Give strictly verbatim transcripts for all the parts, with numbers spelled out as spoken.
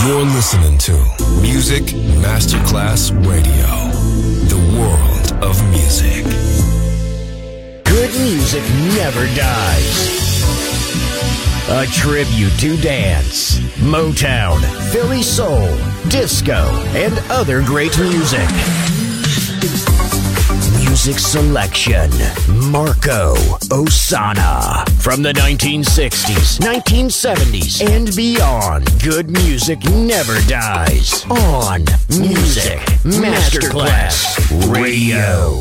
You're listening to Music Masterclass Radio, the world of music. Good music never dies. A tribute to dance, Motown, Philly soul, disco, and other great music. Music selection, Marco Ossanna. From the nineteen sixties, nineteen seventies, and beyond, good music never dies. On Music Masterclass Radio.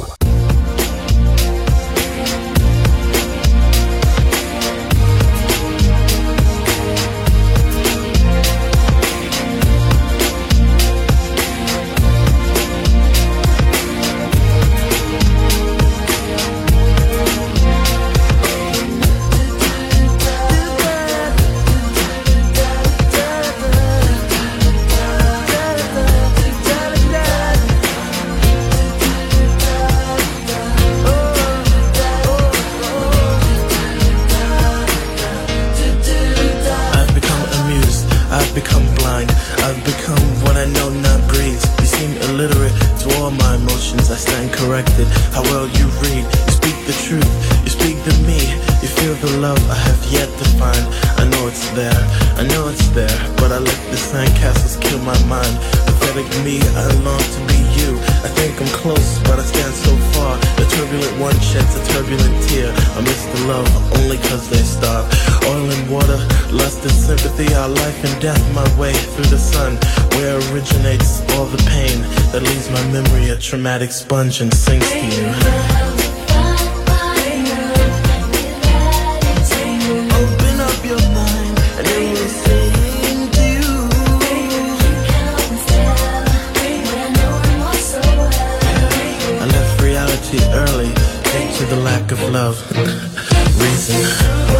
How well you read, you speak the truth, you speak to me, you feel the love I have yet to find. I know it's there, I know it's there, but I let the sandcastles kill my mind. Pathetic me, I long to be you. I think I'm close, but I stand so far. The turbulent one sheds a turbulent tear. I miss the love only cause they starve. Oil and water, lust and sympathy, our life and death, my way through the sun. Where originates all the pain that leaves my memory a traumatic sponge and sinks to you. Open up your mind and it will sing to you. I left reality early due to the lack of love. Reason.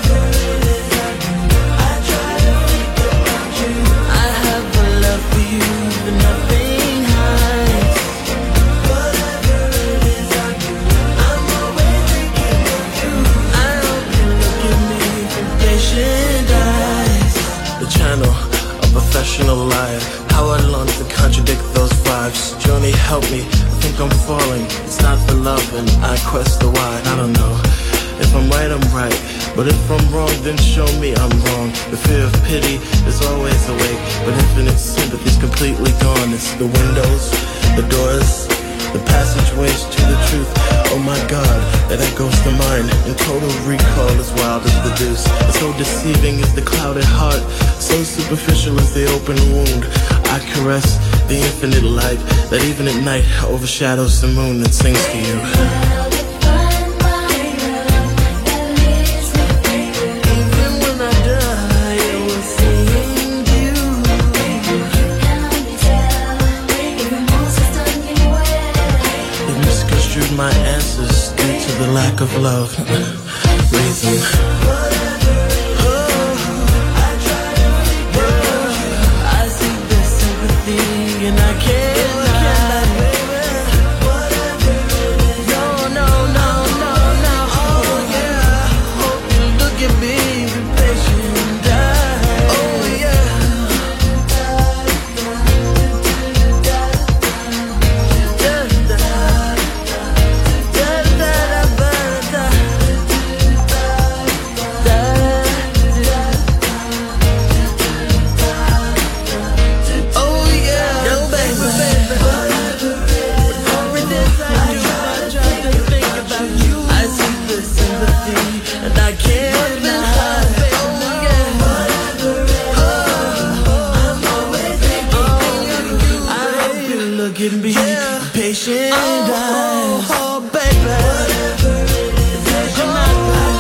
Professional liar, how I long to contradict those vibes. Johnny, help me, I think I'm falling. It's not the love and I quest the why. I don't know, if I'm right, I'm right, but if I'm wrong, then show me I'm wrong. The fear of pity is always awake, but infinite sympathy's completely gone. It's the windows, the doors, the passageways to the truth. Oh my God, that echoes the mind, and total recall is wild as the deuce. So deceiving is the clouded heart, so superficial is the open wound. I caress the infinite light that even at night overshadows the moon that sings to you. My answers due to the lack of love. Reason. I see the sympathy and I can't lie. No, no, no, no, no. Oh yeah. Hope you look at me, be patient and die. Oh yeah. Give me yeah. patient eyes. Oh, oh, baby. Whatever it is that you're not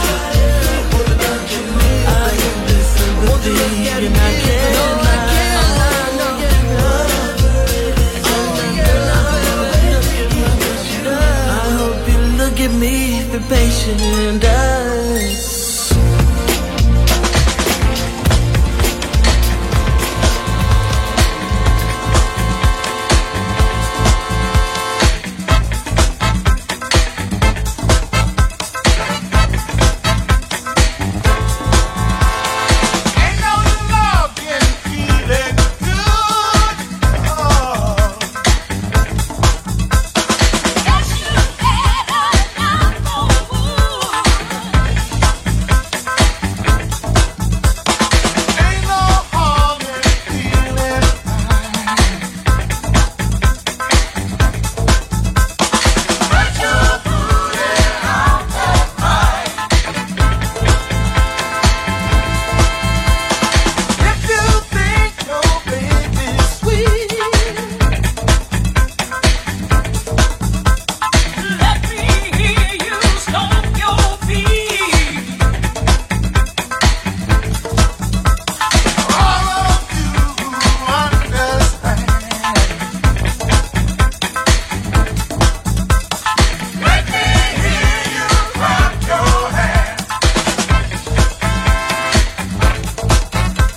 I give this sympathy and I can't no, lie. I can't no. Whatever it is that you're not I hope you look at me, be patient eyes. Ain't no love can feel it.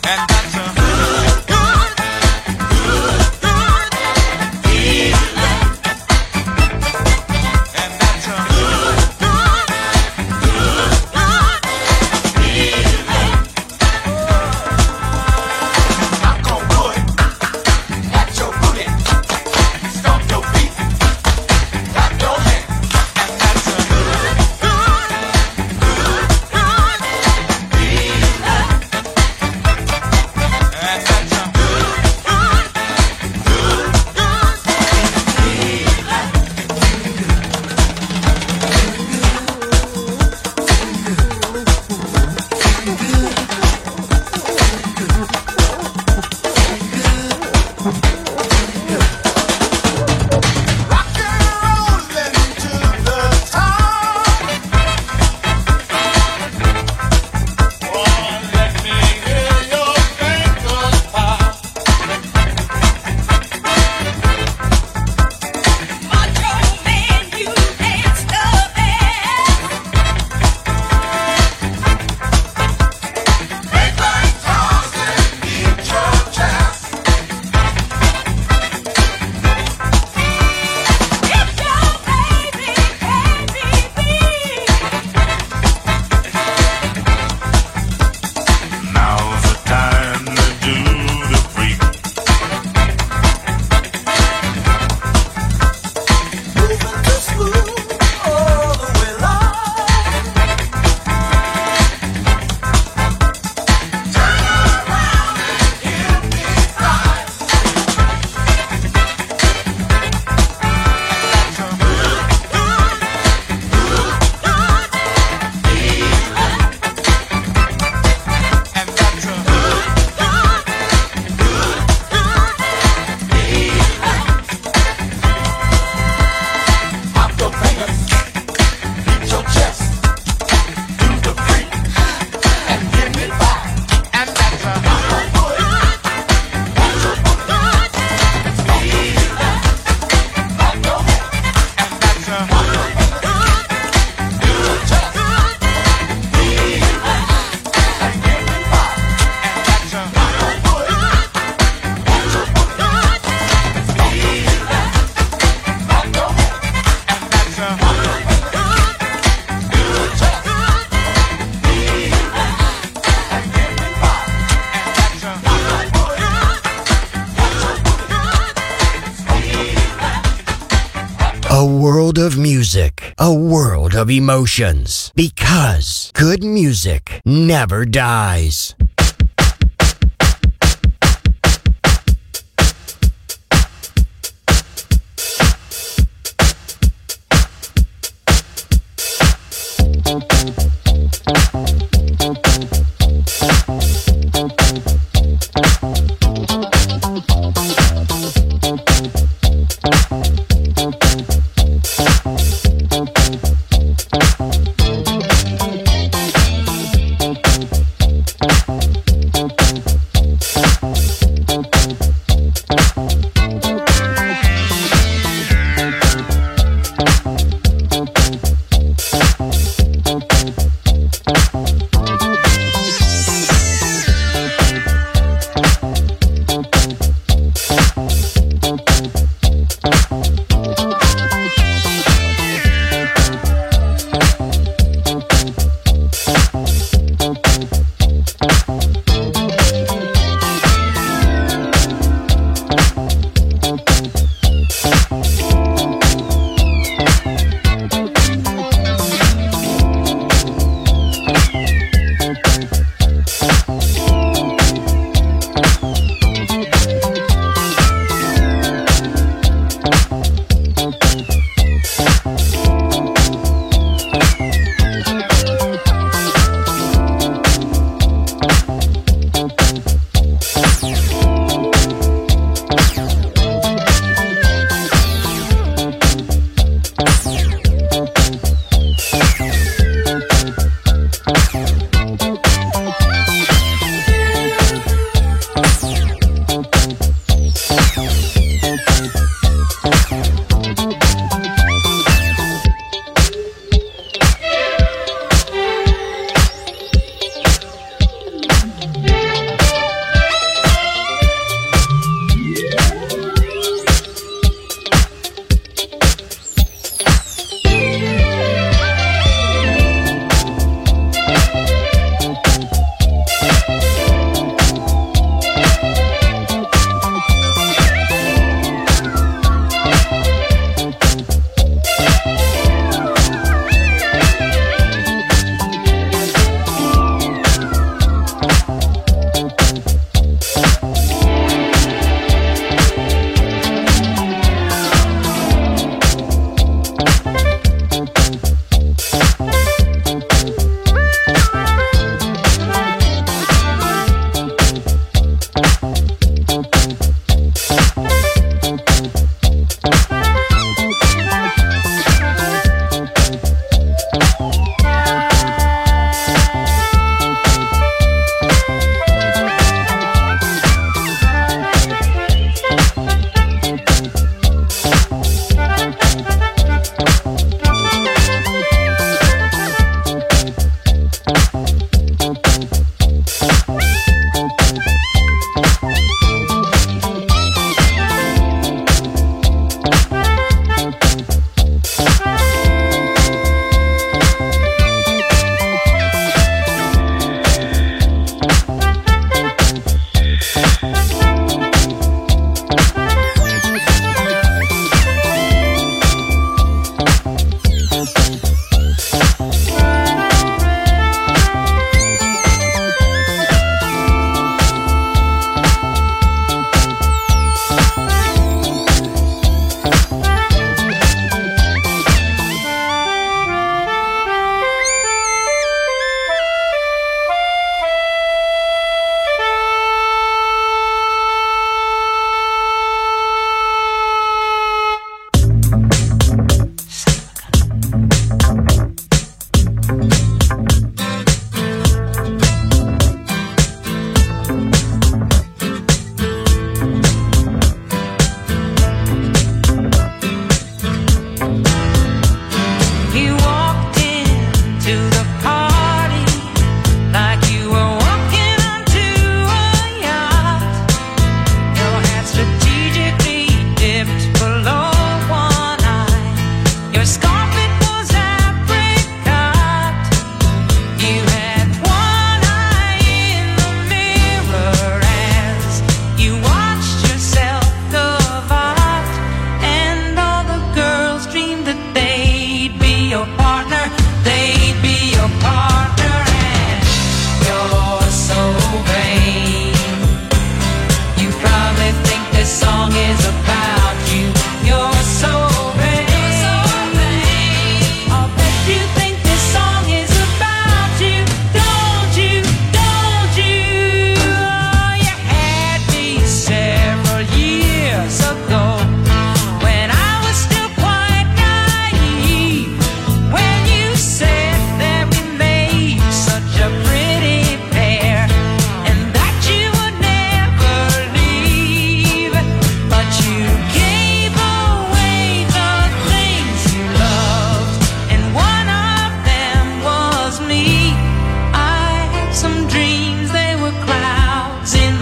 A world of music, a world of emotions, because good music never dies.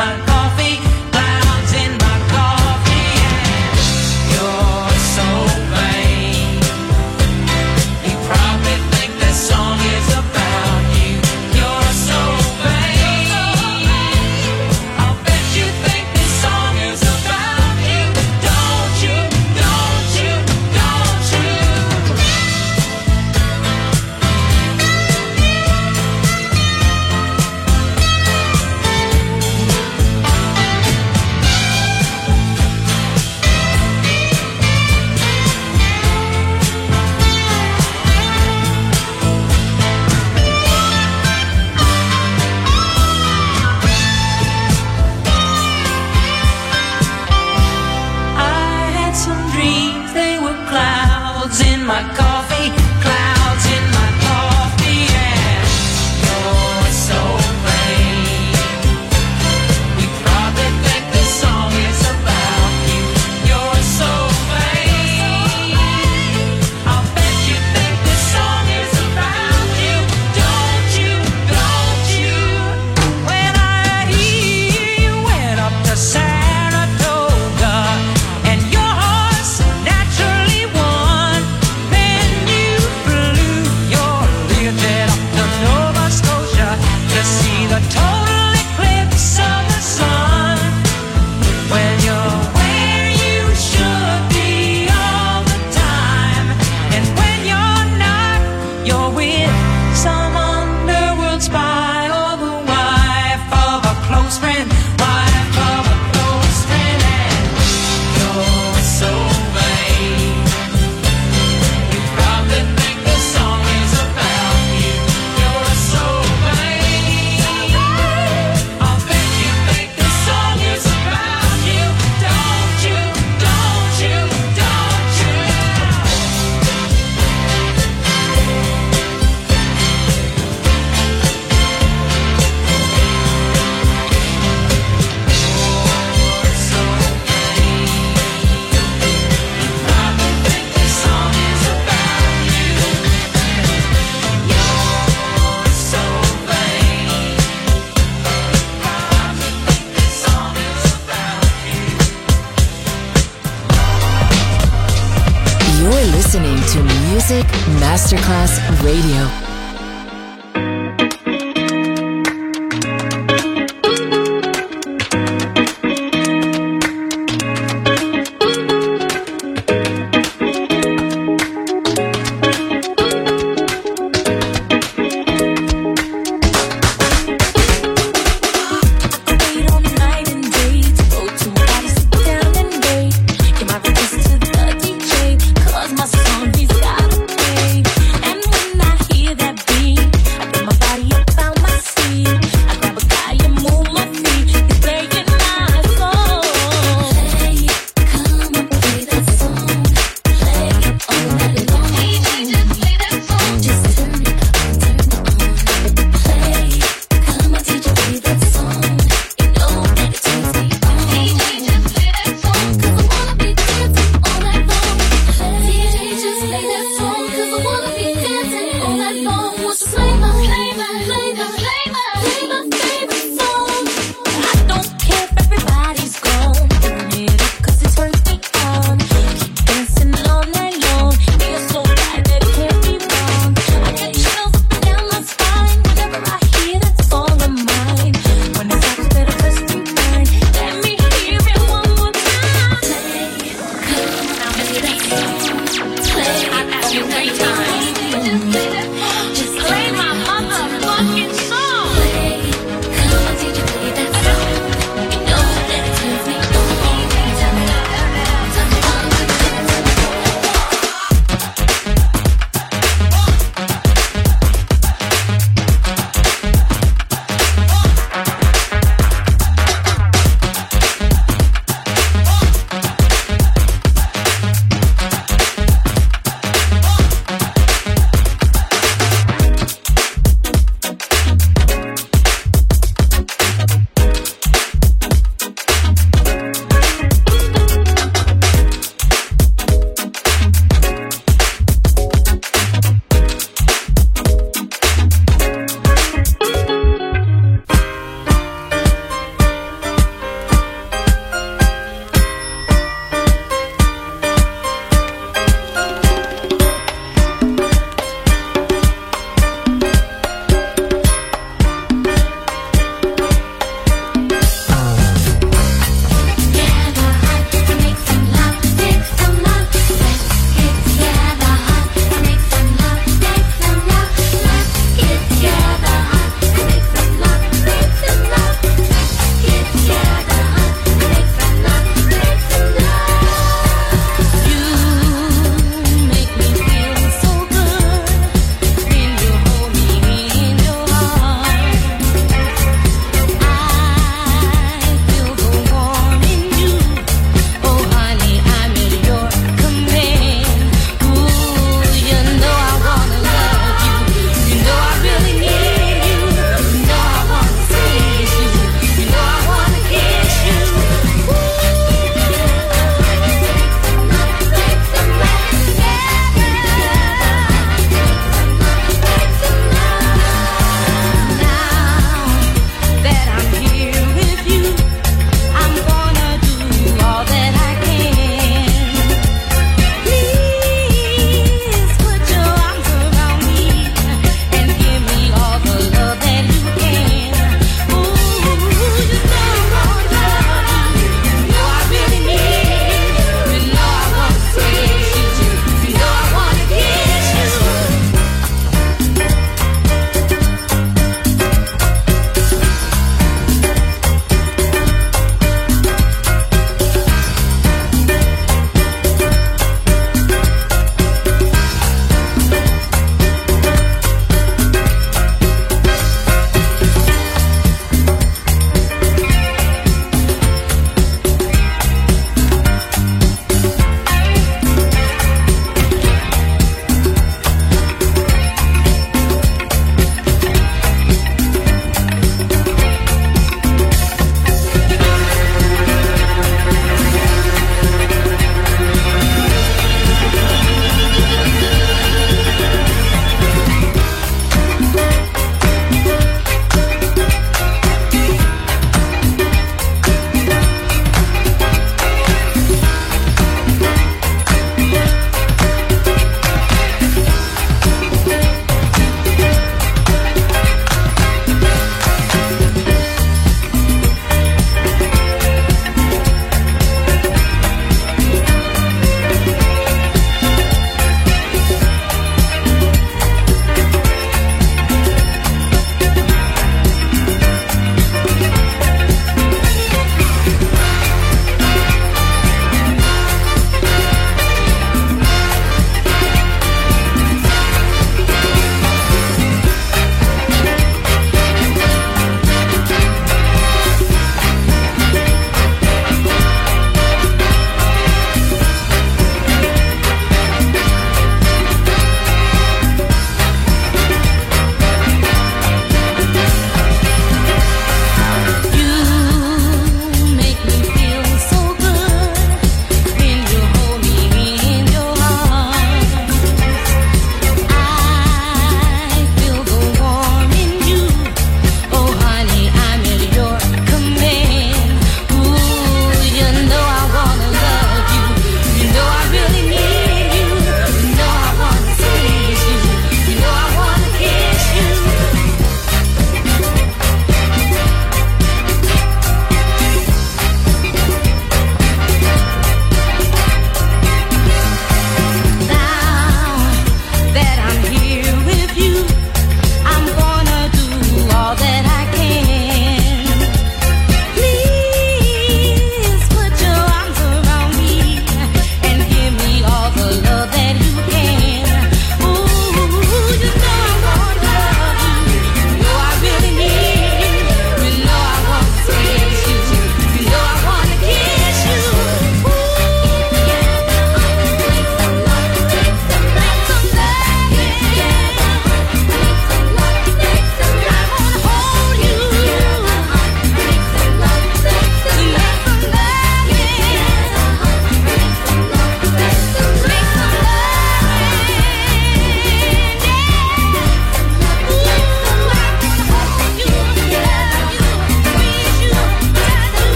my coffee, clouds in my coffee, and you're so vain. You probably think this song is about you. You're so vain. I'll bet you think this song is about you. Don't you, don't you, don't you? I had some dreams, they were clouds in my coffee, clouds in my coffee, and you're so vain. We probably think this song is about you. You're so vain. I'll bet you think this song is about you. Don't you, don't you? When I hear you went up to Saratoga and your horse naturally won, then you flew your Learjet up to Nova Scotia to see the total eclipse of the sun. When you're where you should be all the time, and when you're not, you're with some underworld spy or the wife of a close friend, wife of a close friend, and you're so vain. You probably think this song is about you. You're so vain. I'll bet you think this song is about you. Don't you, don't you, don't you? You're so vain. You probably think this song is about you. You're so vain. Probably think this song is about you. You're listening to Music Masterclass Radio. Wait all night and day to go to a party, sit down and wait. Give my request to the D J, 'cause my song he's gotta play. And when I hear that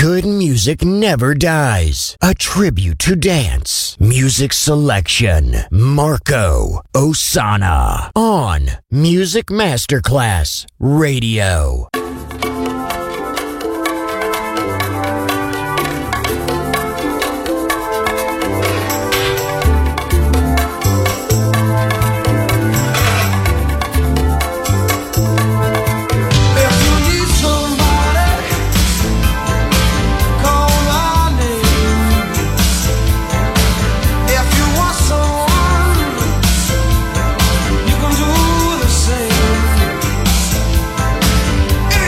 Good Music Never Dies. A tribute to dance. Music selection. Marco Ossanna. On Music Masterclass Radio. You can do the same.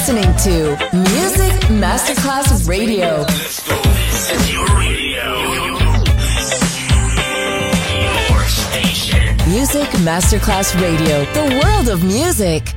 listening to Music Masterclass Radio. Let's go. This is your radio. Your station. Music Masterclass Radio. The world of music.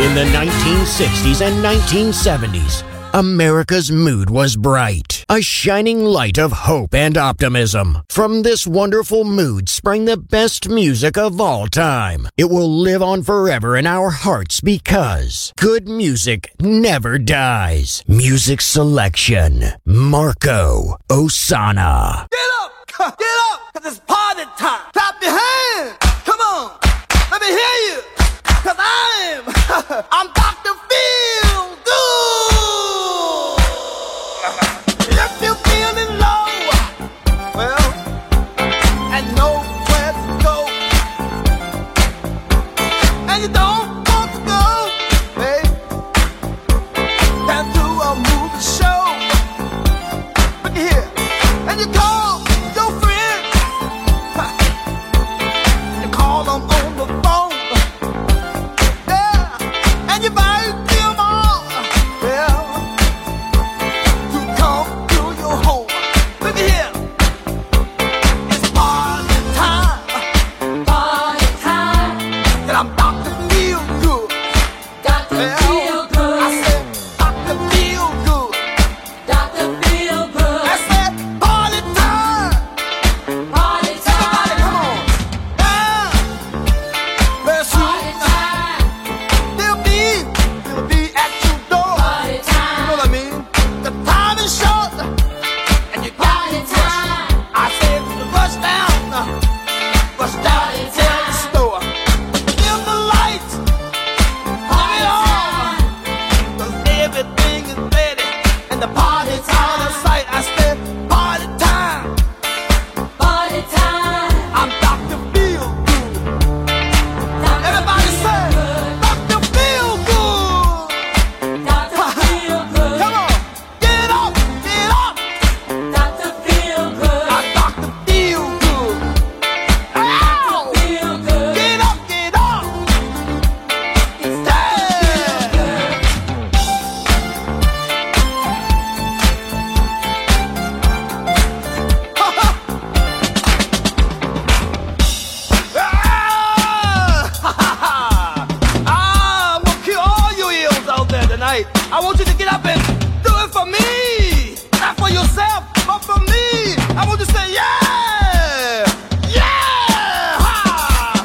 In the nineteen sixties and nineteen seventies, America's mood was bright, a shining light of hope and optimism. From this wonderful mood sprang the best music of all time. It will live on forever in our hearts because good music never dies. Music selection, Marco Ossanna. Get up! Get up! Cause it's party time! Clap your hands! Come on! Let me hear you! Cause I'm... I'm Doctor Feel Good! If you're feeling low, well, and nowhere to go, and you don't want to go, hey, can do a movie show. Look here, and you call your friends, you call them on the phone, yeah, and you invite them all, well, to come to your home. Look here, it's party time, Party time, and I'm Doctor Feel Good. Doctor Well, Feel Good, I said Doctor Feel Good. Doctor Feel Good, I said party time. Party Everybody, time, come on. Yeah. Very soon, Party time, they'll be, they'll be at your door. Party You know time, what I mean? The time is short, and you got Party to rush. time, I said rush down, rush down Party to the time. store. Dim the lights, turn it on, 'cause everything is ready, and the party's out of sight. I said party time. Party time, I'm Doctor Feel Good. Doctor Everybody Feel say, Good, Doctor Feel Good. Doctor Feel Good, Come on, get up, get up. Doctor Feel Good, I'm Doctor Feel Good. Ow! Feel Good, Get up, get up. it's Yeah. Ah, I'm gonna kill all you eels out there tonight. I want you to get up and do it for me. Not for yourself, but for me. I want you to say, yeah! Yeah! Ha!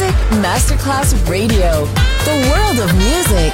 Music Masterclass Radio. The world of music.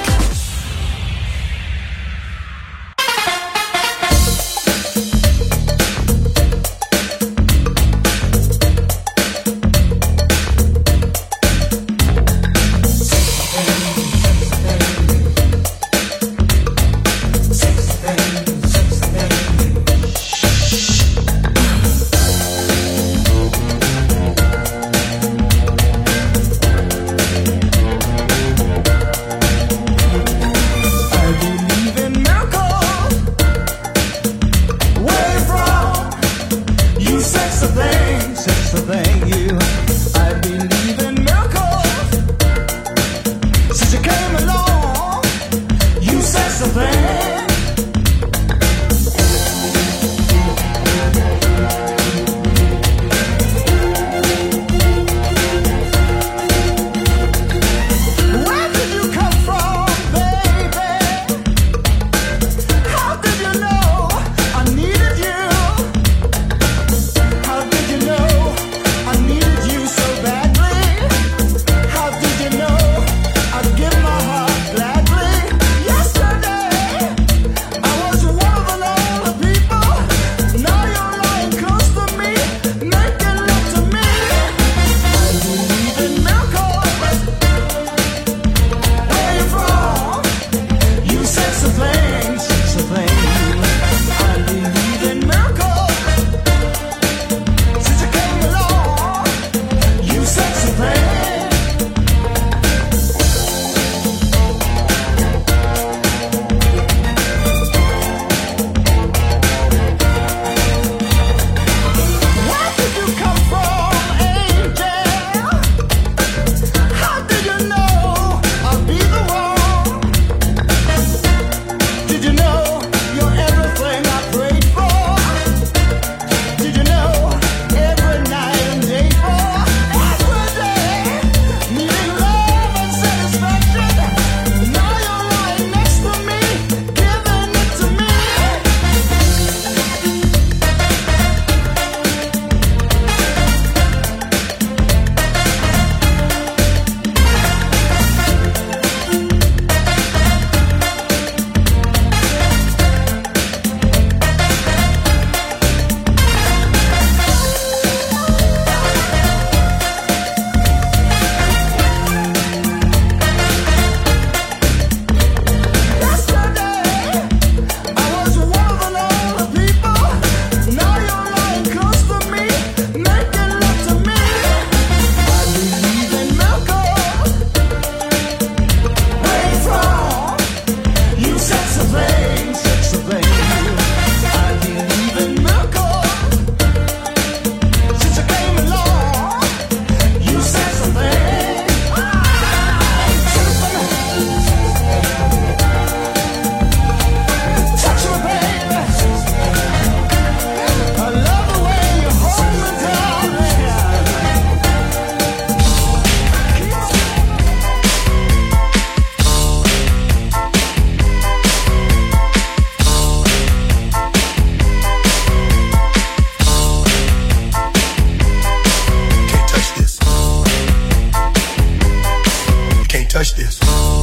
touch this.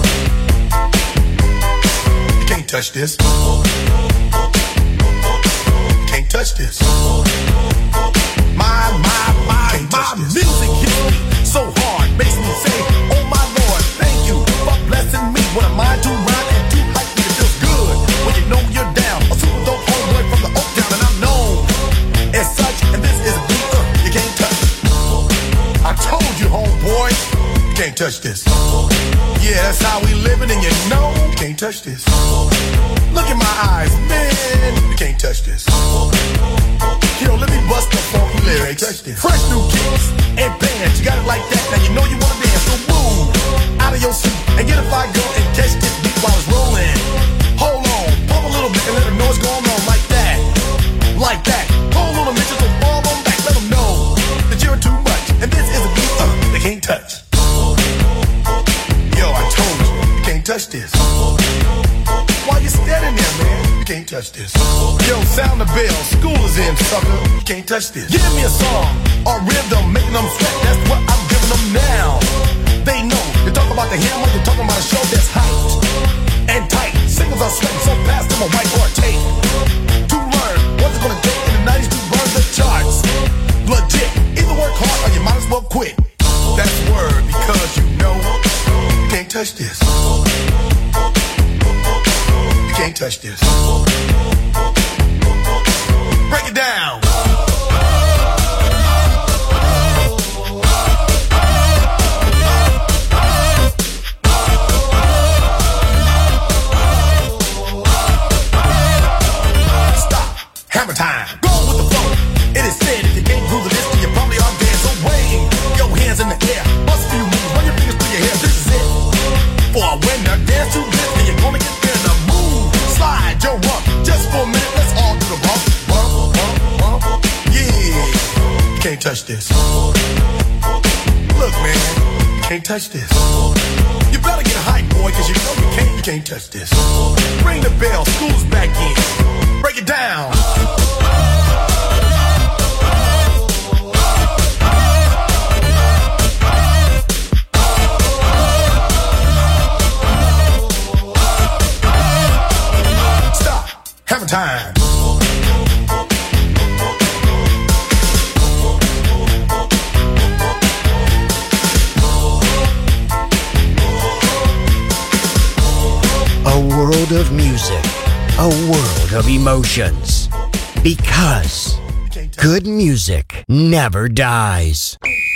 You can't touch this. Can't touch this. My, my, my, my music hits me so hard, makes me say, oh my Lord, thank you for blessing me. When I'm mind to rhyme and too hype, it feels good when you know you're down. A super dope homeboy from the Oak Town, and I'm known as such. And this is a beat uh, you can't touch. I told you, homeboy, you can't touch this. Yeah, that's how we living, and you know you can't touch this. Look in my eyes, man, you can't touch this. Yo, let me bust the funky lyrics. Fresh new kicks and bands, you got it like that. Now you know you wanna dance, so move out of your seat and get a fire girl and catch this beat while it's rolling. Hold on, pump a little bit and let them know what's going on like that, like that. Hold on a minute, so fall on back, let them know that you're too much, and this is a beat uh, they can't touch. Yo, I told you, you can't touch this. Why you standing there, man? You can't touch this. Yo, sound the bell, school is in, sucker. You can't touch this. Give me a song or rhythm, making them sweat. That's what I'm giving them now. They know. You talk about the hammer, you're talking about a show that's hyped and tight. Singles are sweating so fast, them a whiteboard tape. To learn what's it gonna take in the nineties to burn the charts. Legit. Either work hard or you might as well quit. That's word because you know you can't touch this. You can't touch this. Break it down. Stop. Hammer time. Go with the flow. It is said if you can't groove the list, you probably are dead. So wave your hands in the air. Bust a few moves. Run your fingers through your hair. This is it. For a winner, dance to this, and you're gonna get there in a move. Slide your rump. Just for a minute, let's all do the bump. Bump, bump, bump. Yeah. You can't touch this. Look, man. You can't touch this. You better get hype, boy, cause you know you can't, you can't touch this. Ring the bell. School's back in. Break it down. Hammer time. A world of music, a world of emotions. Because good music never dies.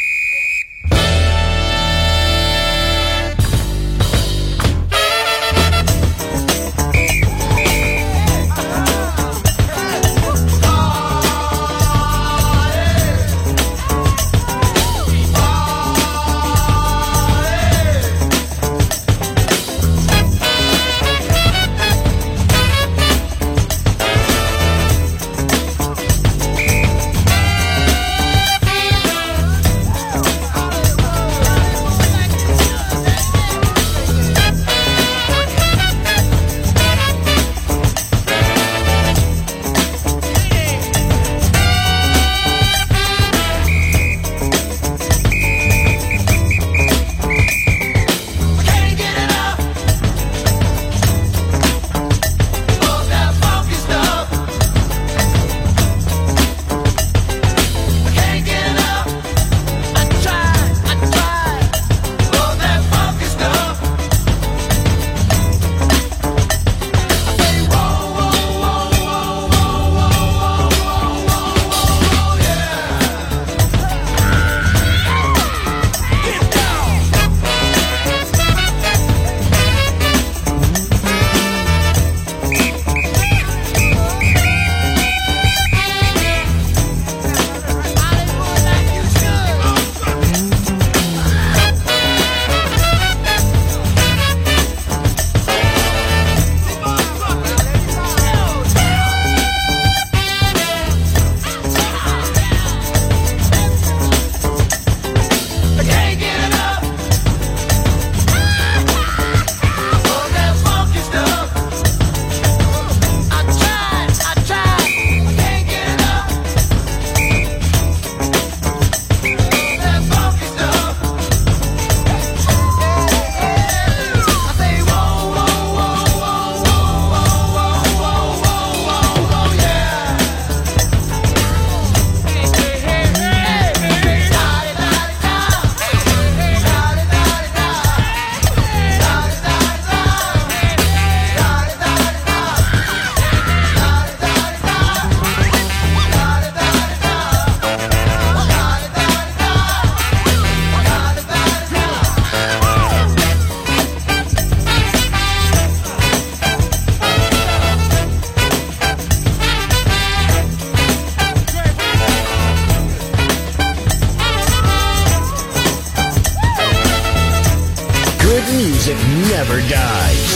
music never dies.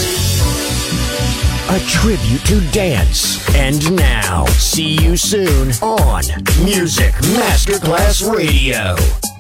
A tribute to dance. And now, see you soon on Music Masterclass Radio.